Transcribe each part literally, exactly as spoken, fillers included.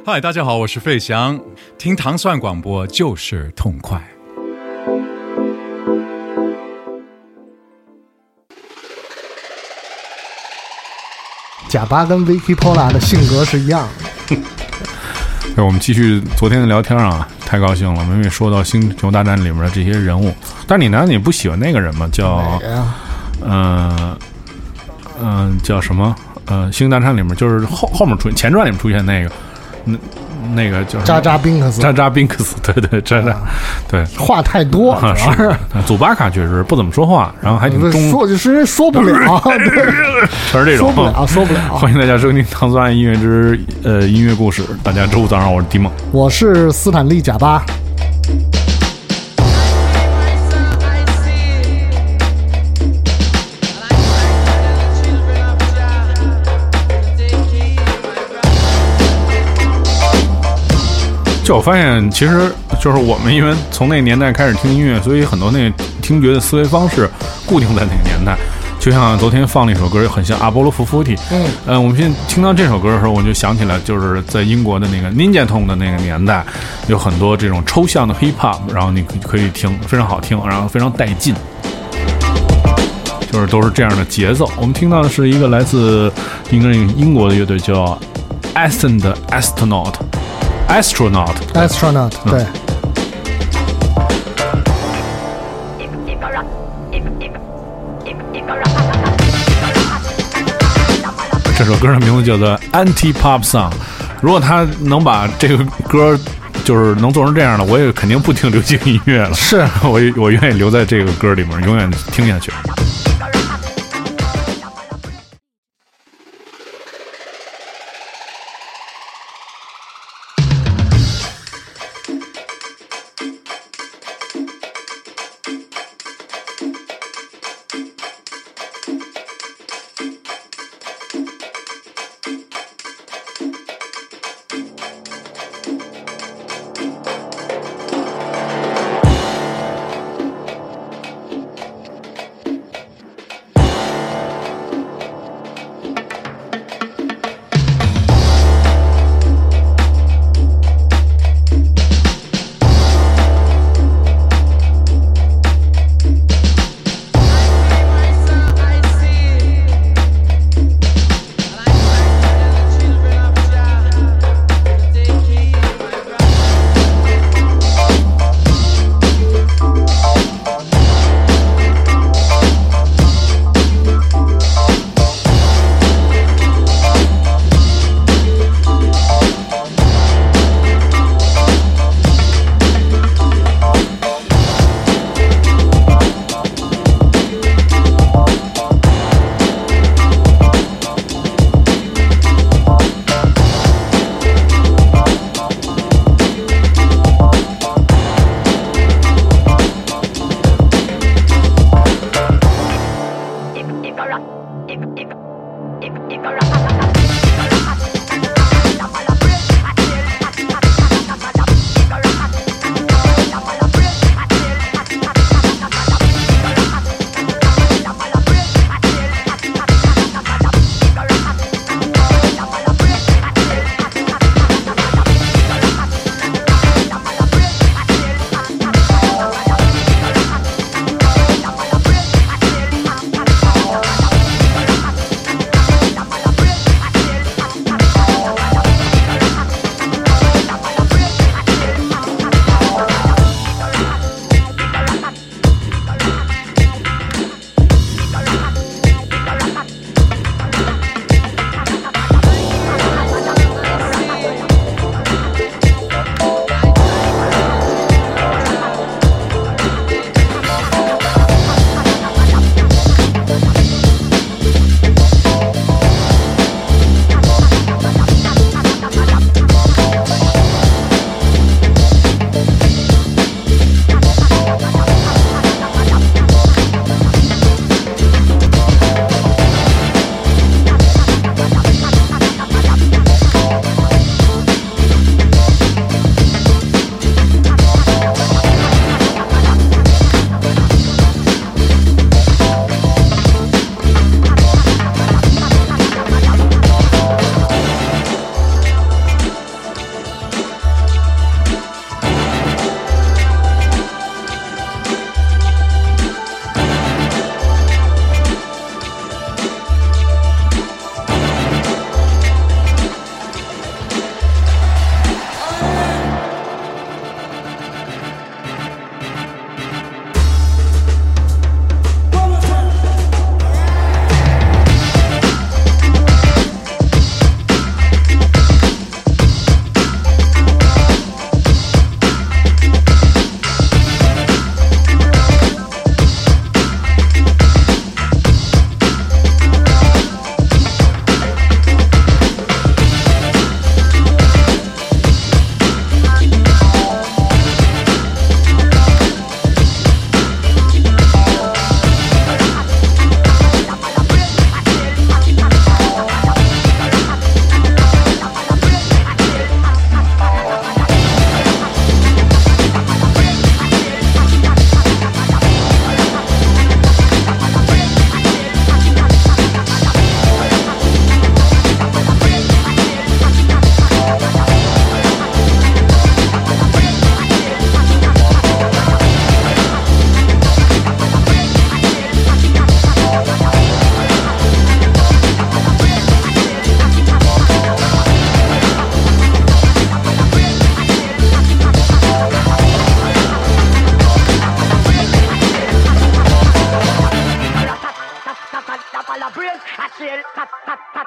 嗨，大家好，我是费翔，听糖蒜广播就是痛快。 贾巴跟 Vicky Pola 的性格是一样的。 对，我们继续昨天的聊天啊，太高兴了，我们也说到《星球大战》里面的这些人物。但是你难道你不喜欢那个人吗？叫嗯嗯、呃呃、叫什么？呃，《星球大战》里面就是后后面出前传里面出现那个，那那个叫扎扎宾克斯， 扎扎宾克斯，对对扎扎，啊、对， 话太多， 啊、 主要是祖巴卡确实不怎么说话，然后还挺中， 说就是说不了， 全是这种说不了，说不了。 欢迎大家收听《唐三爱音乐之呃音乐故事》，大家周五早上，我是迪梦， 我是斯坦利贾巴。 就我发现，其实就是我们因为从那个年代开始听音乐，所以很多那个听觉的思维方式固定在那个年代。就像昨天放了一首歌，很像阿波罗福夫提。嗯，呃，我们现在听到这首歌的时候，我就想起来，就是在英国的那个 Ninja Tune 的那个年代，有很多这种抽象的 hip hop， 然后你可以听，非常好听，然后非常带劲，就是都是这样的节奏。我们听到的是一个来自应该是英国的乐队叫 Ascend Astronaut。Astronaut Astronaut 对、嗯、 这首歌的名字叫做 Anti-Pop Song。 如果他能把这个歌就是能做成这样的，我也肯定不听流行音乐了， 是我我愿意留在这个歌里面永远听下去。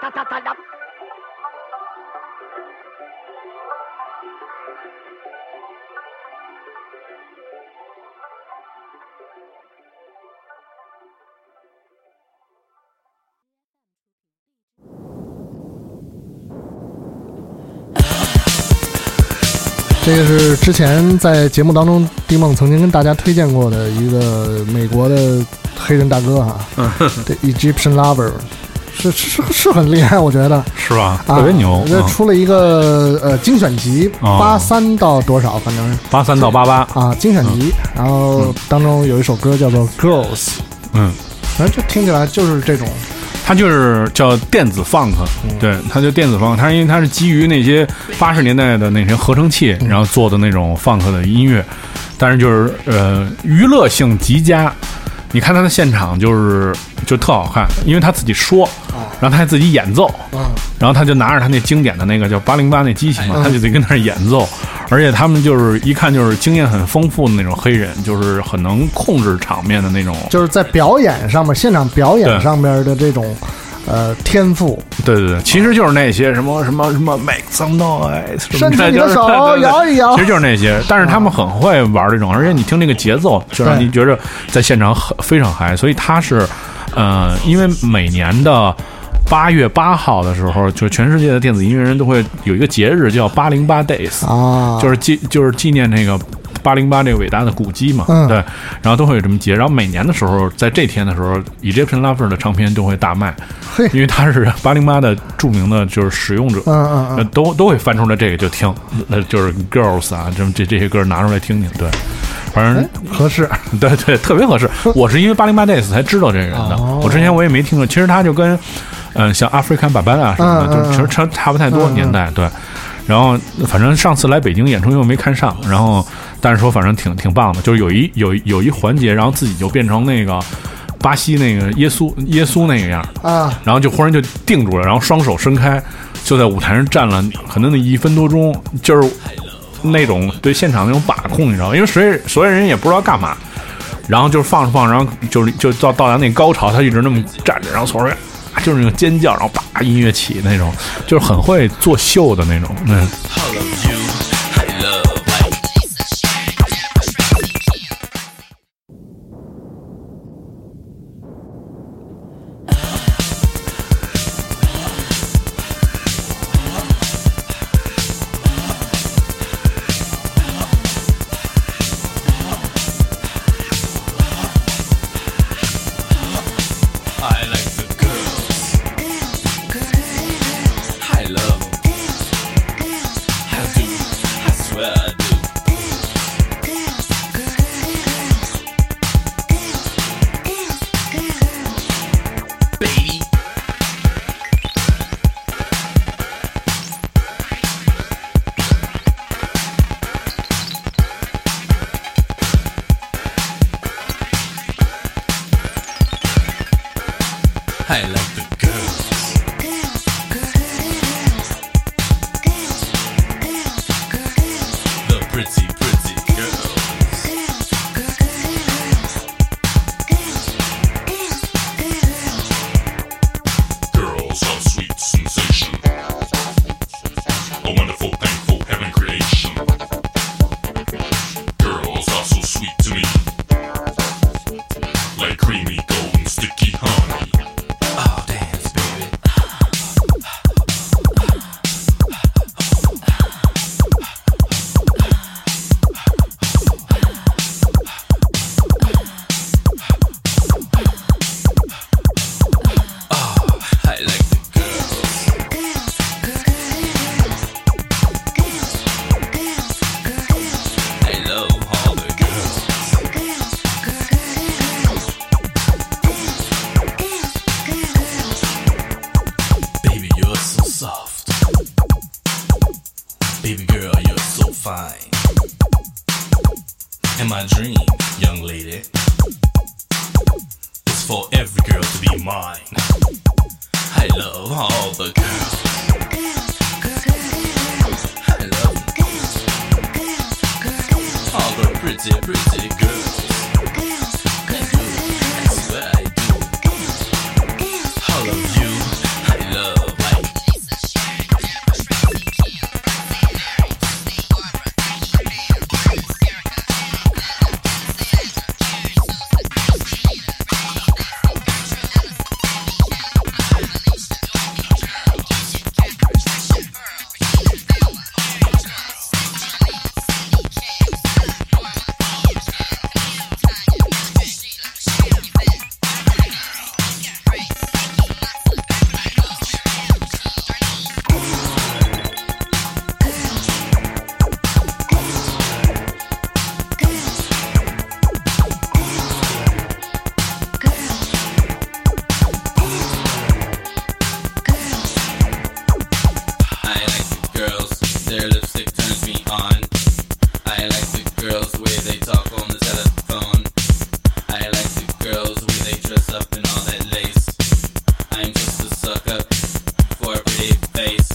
这个是之前在节目当中迪梦曾经跟大家推荐过的一个美国的黑人大哥哈，对 Egyptian Lover， 是是是很厉害，我觉得是吧？特别牛。 这、啊、出了一个呃精选集，八三到多少，反正是八三到八八啊精选集、嗯，然后当中有一首歌叫做 Girls， 嗯， 反正就听起来就是这种。 它就是叫电子 funk， 对，它就电子 funk， 它因为它是基于那些八十年代的那些合成器，然后做的那种 funk 的音乐，但是就是呃娱乐性极佳。你看他的现场就是就特好看，因为他自己说，然后他还自己演奏，然后他就拿着他那经典的那个叫八零八那机器嘛，他就得跟那儿演奏，而且他们就是一看就是经验很丰富的那种黑人，就是很能控制场面的那种， 就是在表演上面，现场表演上面的这种。呃，天赋， 对对对，其实就是那些什么什么什么 make some noise， 伸出你的手摇一摇， 其实就是那些。但是他们很会玩这种，而且你听这个节奏，就让你觉得在现场很非常嗨。所以他是，呃，因为每年的八月八号的时候，就全世界的电子音乐人都会有一个节日叫八零八 days 啊， 就是纪就是纪念那个。八零八这个伟大的古迹嘛， 嗯， 对，然后都会有这么节，然后每年的时候，在这天的时候 ，Egyptian Lover 的唱片都会大卖，因为他是八零八的著名的就是使用者， 嗯嗯嗯， 都都会翻出来这个就听，那就是 Girls 啊，这这这些歌拿出来听听，对，反正合适， 对对，特别合适。我是因为八零八 days 才知道这个人的，哦、我之前我也没听过。其实他就跟嗯、呃、像 African Bambaataa 什么的，嗯嗯、就其实差差不太多、嗯、年代，对。然后反正上次来北京演出因为没看上，然后但是说反正挺挺棒的，就是有一有有一环节，然后自己就变成那个巴西那个耶稣耶稣那个样啊， 然后就忽然就定住了，然后双手伸开，就在舞台上站了可能那一分多钟，就是那种对现场那种把控，你知道吗？因为所有所有人也不知道干嘛，然后就是放着放着，然后就就到到达那高潮，他一直那么站着，然后所有人就是那种尖叫，然后叭音乐起那种，就是很会做秀的那种。嗯。 I like the girls. The pretty, pretty girls. Girls are sweet sensation. A wonderful, thankful heaven creation. Girls are so sweet to me. Like creamy golden sticky honey. Oh, dance, baby. Oh, I like the girls. I love all the girls. Baby, you're so soft. Baby girl, you're so fine. In my dream, young lady, it's for every girl to be mine. I love all the girls. I love all the pretty, pretty girls. I do, I swear I do. All of you, I love. Their lipstick turns me on. I like the girls the way they talk on the telephone. I like the girls the way they dress up in all that lace. I'm just a sucker for a pretty face.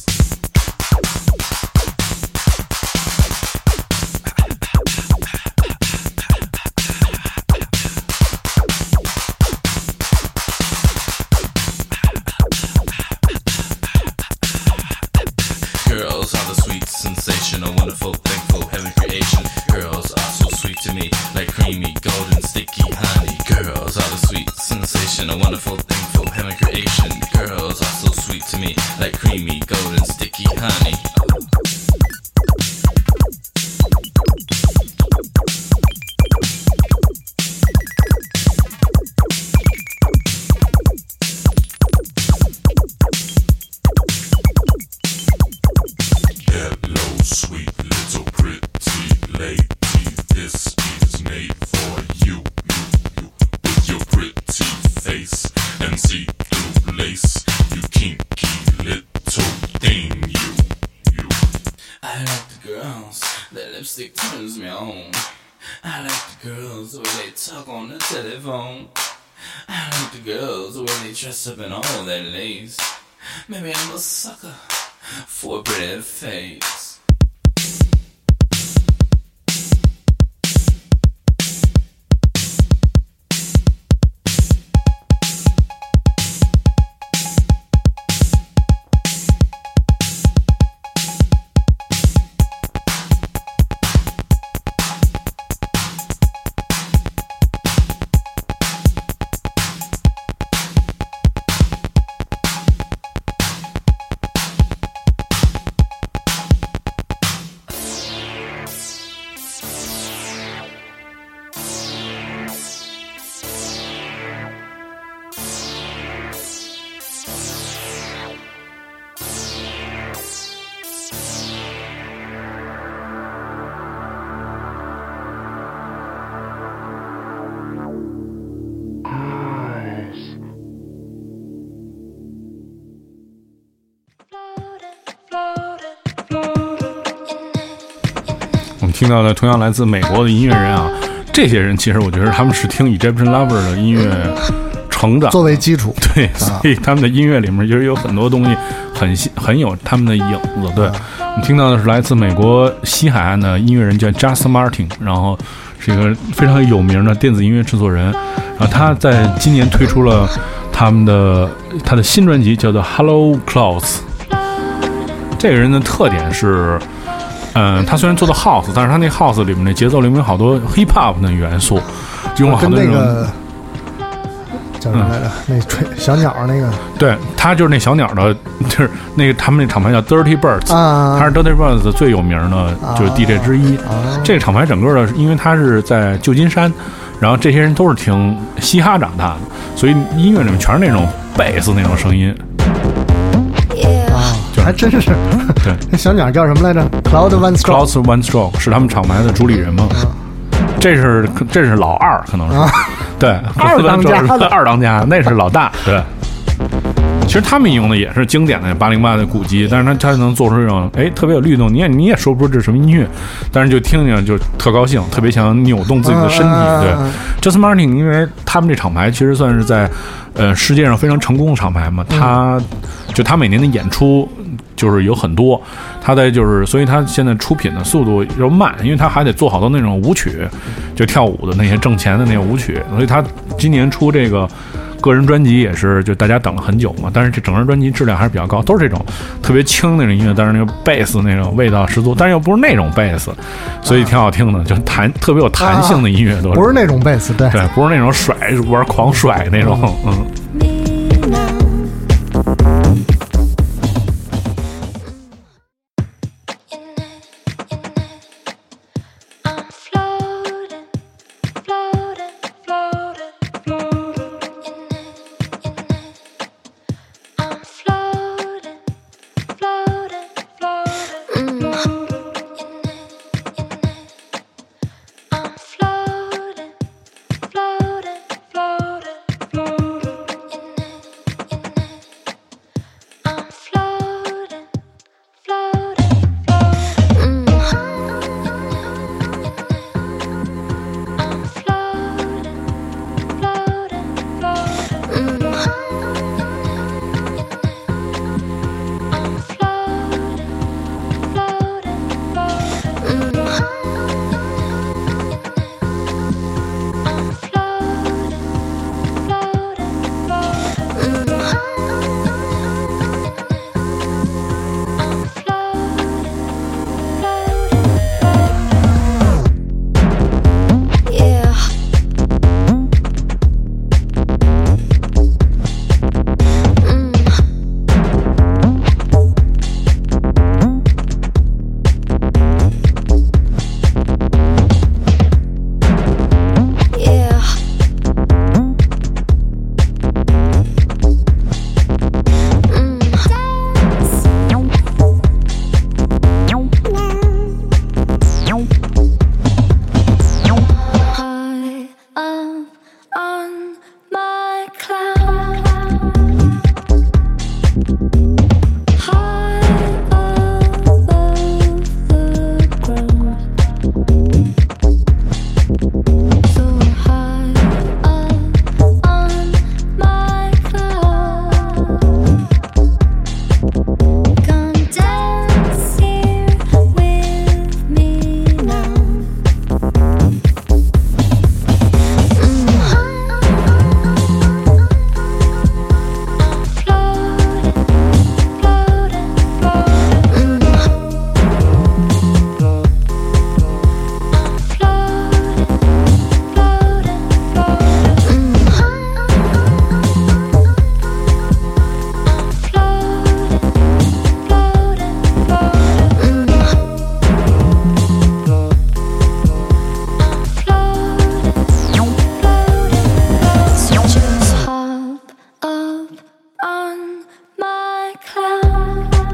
Girls are the sweet, sensational, wonderful, thankful, heaven creation. Girls are so sweet to me, like creamy, golden, sticky honey. Girls are the sweet, sensational, wonderful, thankful, heaven creation. Girls are so sweet to me, like creamy, golden, sticky honey. Lipstick turns me on. I like the girls the way they talk on the telephone. I like the girls the way they dress up in all that lace. Maybe I'm a sucker for a pretty face. 听到的同样来自美国的音乐人啊，这些人其实我觉得他们是听 Egyptian Lover 的音乐成长作为基础， 对，所以他们的音乐里面其实有很多东西很很有他们的影子。对，我们听到的是来自美国西海岸的音乐人叫 Justin Martin， 然后是一个非常有名的电子音乐制作人，然后他在今年推出了他们的他的新专辑叫做 Hello Clouds。这个人的特点是嗯，他虽然做的 house， 但是他那 house 里面的节奏里面有好多 hip hop 的元素，用了好多那个叫什么来着？嗯、那吹小鸟那个， 对，他就是那小鸟的，就是那个他们那厂牌叫 Dirty Birds，、啊、他是 Dirty Birds 最有名的就是 D J 之一。啊、这个厂牌整个的，因为他是在旧金山，然后这些人都是听嘻哈长大的，所以音乐里面全是那种贝斯那种声音。 还真是， 对， 那小鸟叫什么来着 ？Cloud One Stroke。 Cloud One Stroke 是他们厂牌的主理人吗？嗯、这是这是老二，可能是，啊、对， 二当家的二当家，那是老大，对。其实他们用的也是经典的八零八的鼓机，但是他他能做出这种哎特别有律动，你也你也说不出这是什么音乐，但是就听听就特高兴，特别想扭动自己的身体。对 ，Justin Martin， 因为他们这厂牌其实算是在呃世界上非常成功的厂牌嘛，他就他每年的演出就是有很多，他在就是所以他现在出品的速度又慢，因为他还得做好多那种舞曲，就跳舞的那些挣钱的那些舞曲，所以他今年出这个。个人专辑也是，就大家等了很久嘛，但是这整个专辑质量还是比较高，都是这种特别轻那种音乐，但是那个贝斯那种味道十足，但是又不是那种贝斯，所以挺好听的，就弹特别有弹性的音乐，都是、 啊、不是那种贝斯，对对，不是那种甩玩狂甩那种，嗯。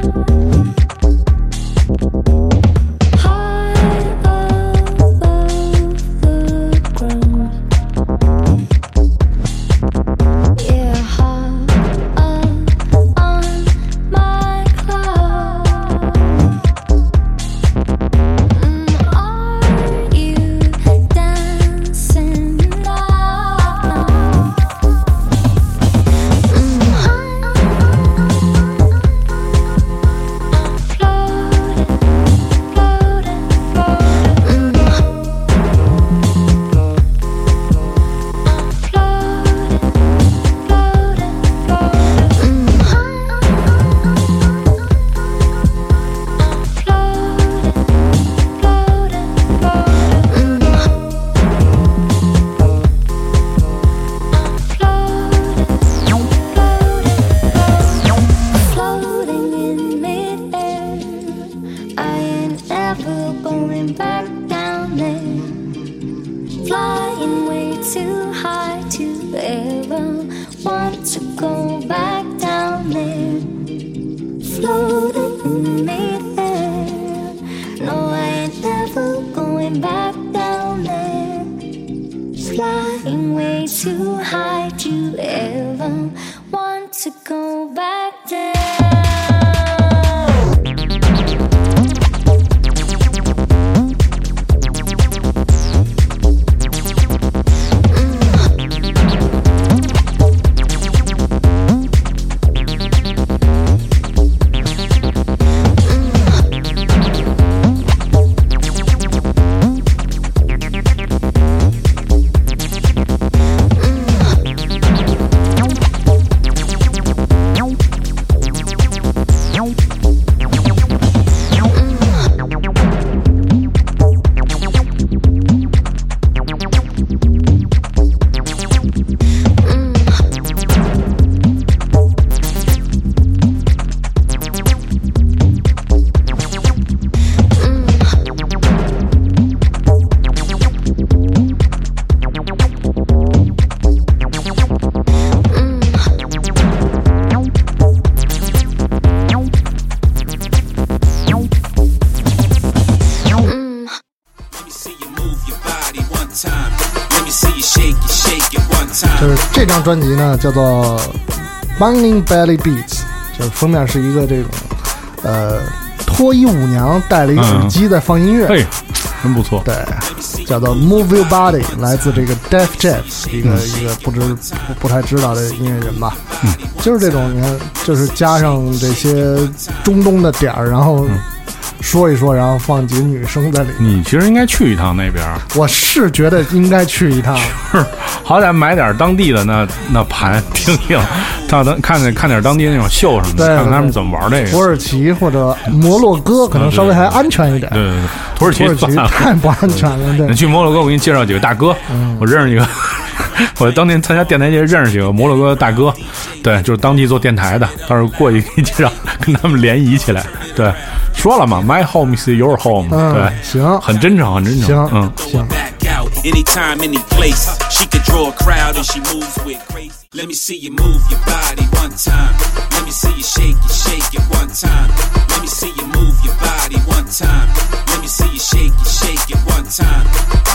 就是这张专辑呢叫做 Banging Belly Beats， 就是封面是一个这种呃脱衣舞娘戴了一个耳机在放音乐， 嘿、嗯，真不错。 对，叫做 Move Your Body， 来自这个 Def Jam， 一个、嗯、一个不知不不太知道的音乐人吧。嗯，就是这种你看，就是加上这些中东的点儿，然后。嗯说一说，然后放几个女生在里面。 你其实应该去一趟那边。 我是觉得应该去一趟， 好歹买点当地的那那盘听听，看看看点当地那种秀什么的，看看他们怎么玩这个。 土耳其或者摩洛哥可能稍微还安全一点。 对对对，土耳其土耳其太不安全了。对， 你去摩洛哥，我给你介绍几个大哥，嗯、我认识几个。我当年参加电台节认识几个摩洛哥大哥，对，就是当地做电台的，到时候过去给你介绍，跟他们联谊起来。对，说了嘛 ，My home is your home、嗯。对， 行， 很真诚，很真诚。 行， 嗯， 行。 Anytime, any place, she could draw a crowd and she moves with grace. Let me see you move your body one time. Let me see you shake it, shake it one time. Let me see you move your body one time. Let me see you shake it, shake it one time.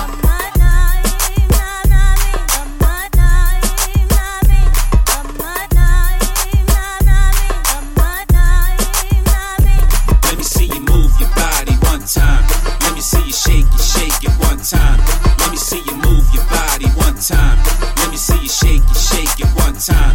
Let me see you move your body one time. Let me see you shake it, shake it one time.Let me see you move your body one time. Let me see you shake it, shake it one time.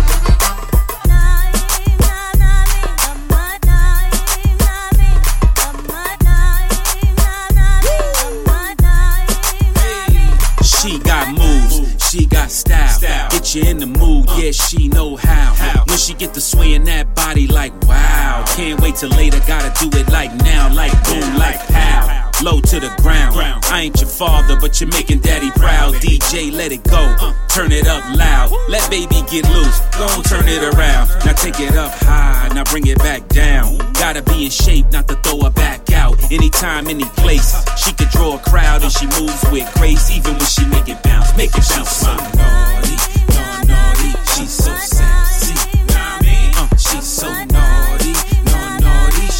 She got moves, she got style. Get you in the mood, yeah, she know how. When she get to swaying that body like wow. Can't wait till later, gotta do it like now, like boom, like pow.Low to the ground. I ain't your father, but you're making daddy proud. D J, let it go. Turn it up loud. Let baby get loose. Go on, turn it around. Now take it up high. Now bring it back down. Gotta be in shape not to throw her back out. Anytime, any place. She could draw a crowd and she moves with grace. Even when she make it bounce, make it bounce. She's so naughty, no naughty. She's so sexy. Uh, she's so naughty, no naughty.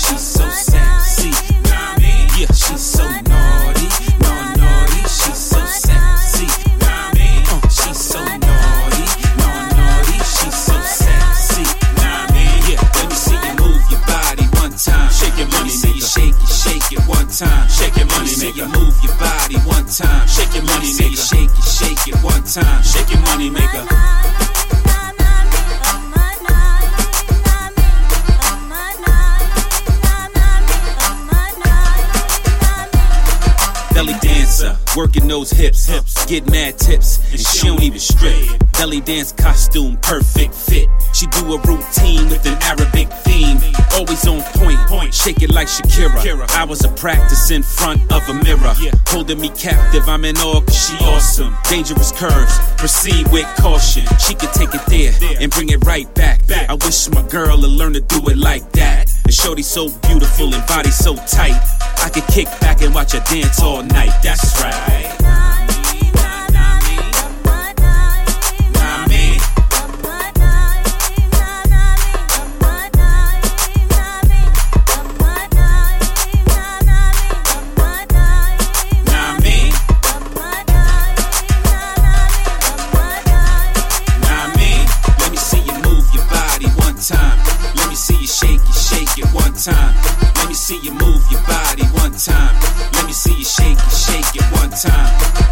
you move your body one time. Shake your money maker. Shake it, shake it one time. Shake your money maker. Belly dancer, working those hips, hips, get mad tips, and she don't even strip. Belly dance costume, perfect fit. She do a routine with an Arabic theme, always on point, point. Shake it like Shakira. I was a practice in front of a mirror, holding me captive. I'm in awe 'cause she awesome. Dangerous curves, proceed with caution. She could take it there and bring it right back. I wish my girl would learn to do it like that. And shorty so beautiful and body so tight, I could kick back and watch her dance all night. That's right. Time. Let me see you move your body one time. Let me see you shake it, shake it one time.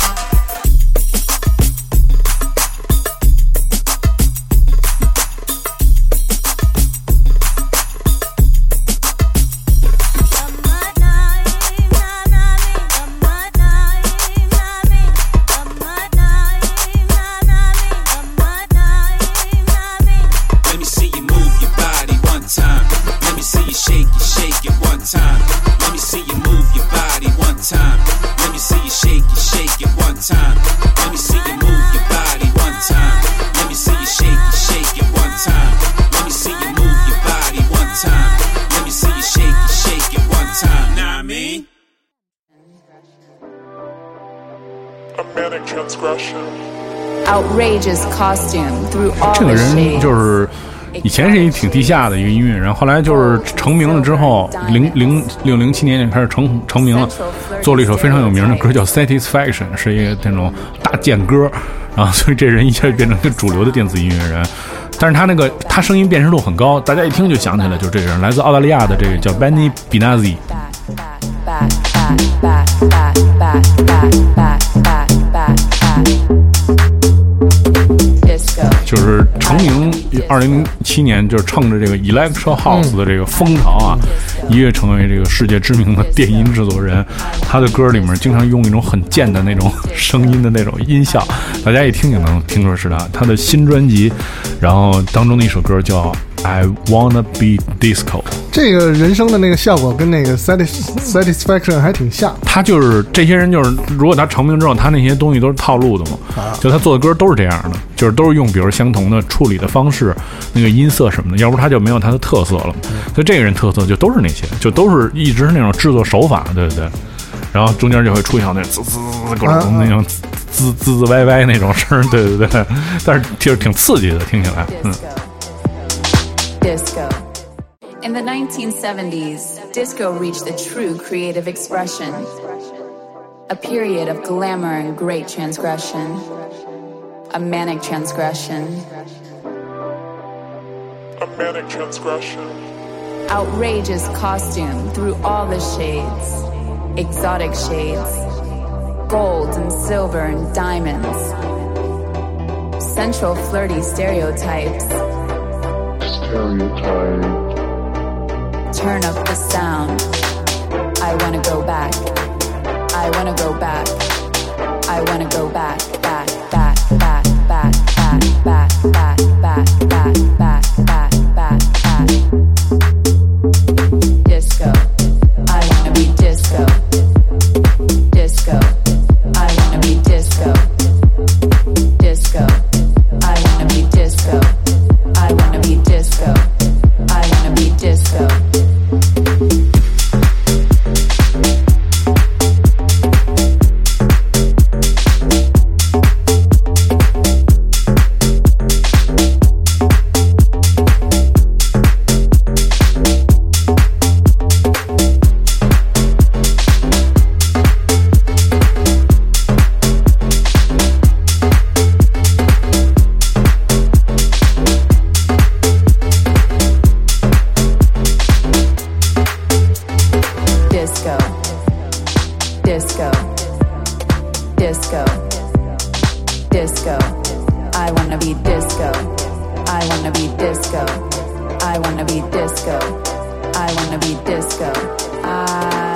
Outrageous costume through all 这个人就是以前是一挺地下的一个音乐人，后来就是成名了之后，零零六零七年就开始成成名了，做了一首非常有名的歌叫 Satisfaction， 是一个那种大贱歌，然后所以这人一下就变成一个主流的电子音乐人。但是他那个他声音辨识度很高，大家一听就想起来就是这个人，来自澳大利亚的这个叫 Benny Benassi。就是成名二零零七年，就是乘着这个 Electro House 的这个风潮啊，一跃成为这个世界知名的电音制作人。他的歌里面经常用一种很贱的那种声音的那种音效，大家一听就能听出是他。他的新专辑，然后当中的一首歌叫 I Wanna Be Disco。 这个人声的那个效果跟那个 Satisfaction 还挺像。 他就是这些人，就是如果他成名之后，他那些东西都是套路的嘛，啊、就他做的歌都是这样的，就是都是用比如相同的处理的方式，那个音色什么的，要不他就没有他的特色了。嗯、所以这个人特色就都是那些，就都是一直是那种制作手法，对不对？然后中间就会出现那滋滋各种那种滋滋滋歪歪那种声，对对对，但是就是挺刺激的，听起来，嗯。 Disco. In the nineteen seventies, disco reached the true creative expression. A period of glamour and great transgression. A manic transgression. A manic transgression. Outrageous costume through all the shades. Exotic shades. Gold and silver and diamonds. Central flirty stereotypes. Stereotype. Turn up the sound. I wanna go back. I wanna go back. I wanna go back, back, back, back, back, back, back, back, back, back, back, back, back, back. Disco. I wanna be disco. Disco. I wanna be disco. Disco. I wanna be disco. I wanna be disco. I wanna be disco. disco, disco, disco. I wanna be disco, I wanna be disco, I wanna be disco, I wanna be disco. I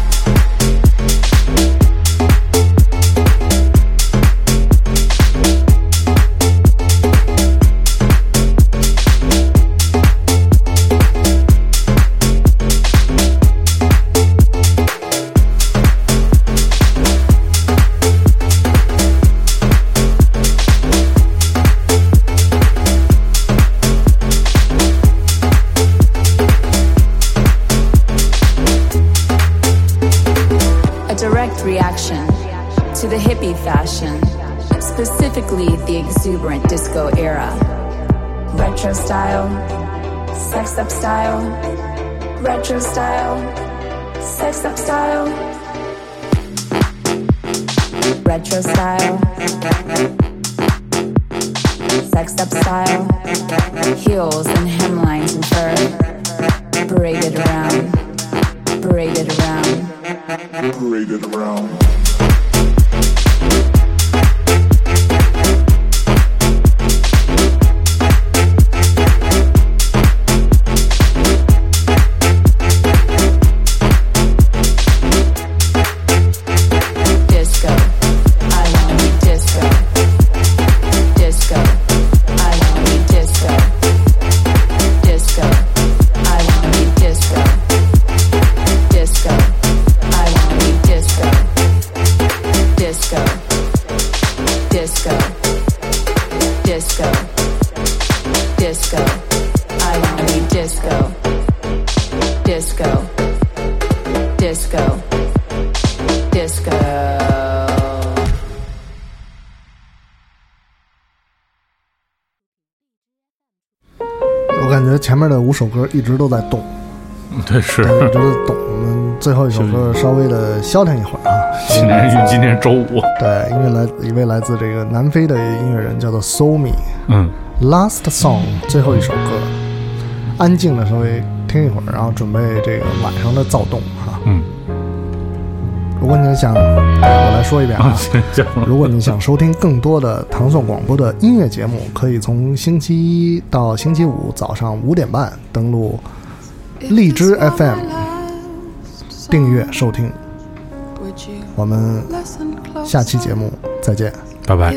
reaction to the hippie fashion, specifically the exuberant disco era. Retro style, sexed up style, retro style, sexed up style, retro style, sexed up style, heels and hemlines and fur, paraded around, paraded around. Paraded around. 前面的五首歌一直都在动， 对，是一直在动。我们最后一首歌稍微的消停一会儿啊。 今天是今天周五， 对，因为来一位来自这个南非的音乐人叫做 Somi， 嗯 ，Last Song 最后一首歌，安静的稍微听一会儿，然后准备这个晚上的躁动哈。 嗯。 如果你想，我来说一遍啊。如果你想收听更多的糖蒜广播的音乐节目，可以从星期一到星期五早上五点半登录荔枝 F M 订阅收听。我们下期节目再见， 拜拜。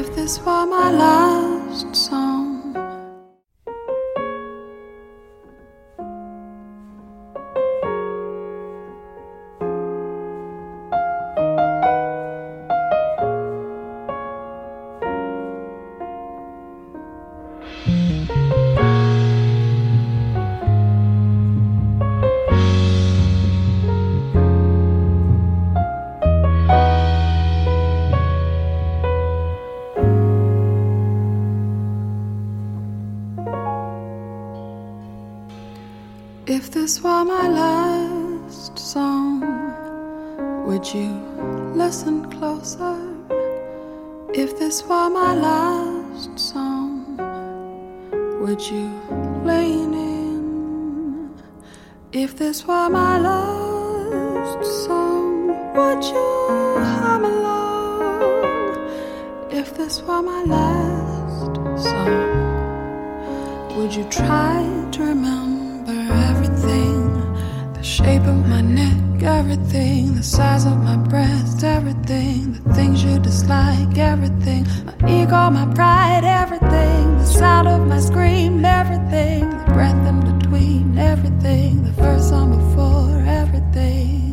If this were my last song, would you listen closer? If this were my last song, would you lean in? If this were my last song, would you hum along? If this were my last song, would you try to remember everything? The shape of my neck, everything. The size of my breast, everything. The things you dislike, everything. My ego, my pride, everything. The sound of my scream, everything. The breath in between, everything. The first song before, everything.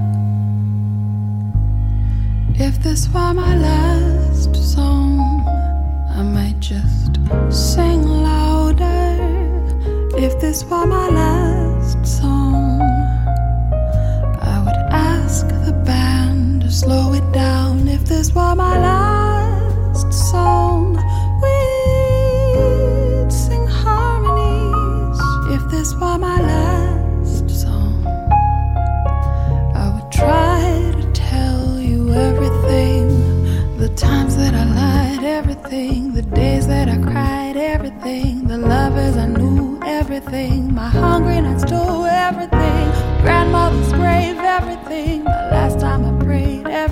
If this were my last song, I might just sing louder. If this were my last song, I would ask the band to slow it down. If this were my last song, we'd sing harmonies. If this were my last song, I would try to tell you everything. The times that I lied, everything. The days that I cried, everything. The lovers I knew, everything. My hungry nights too, everything. Grandmother's grave, everything. The last time I prayed, everything.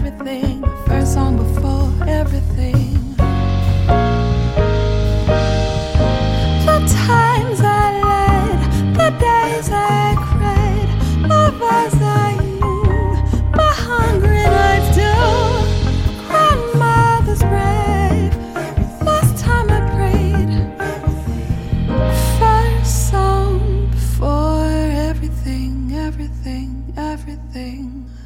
everything, everything.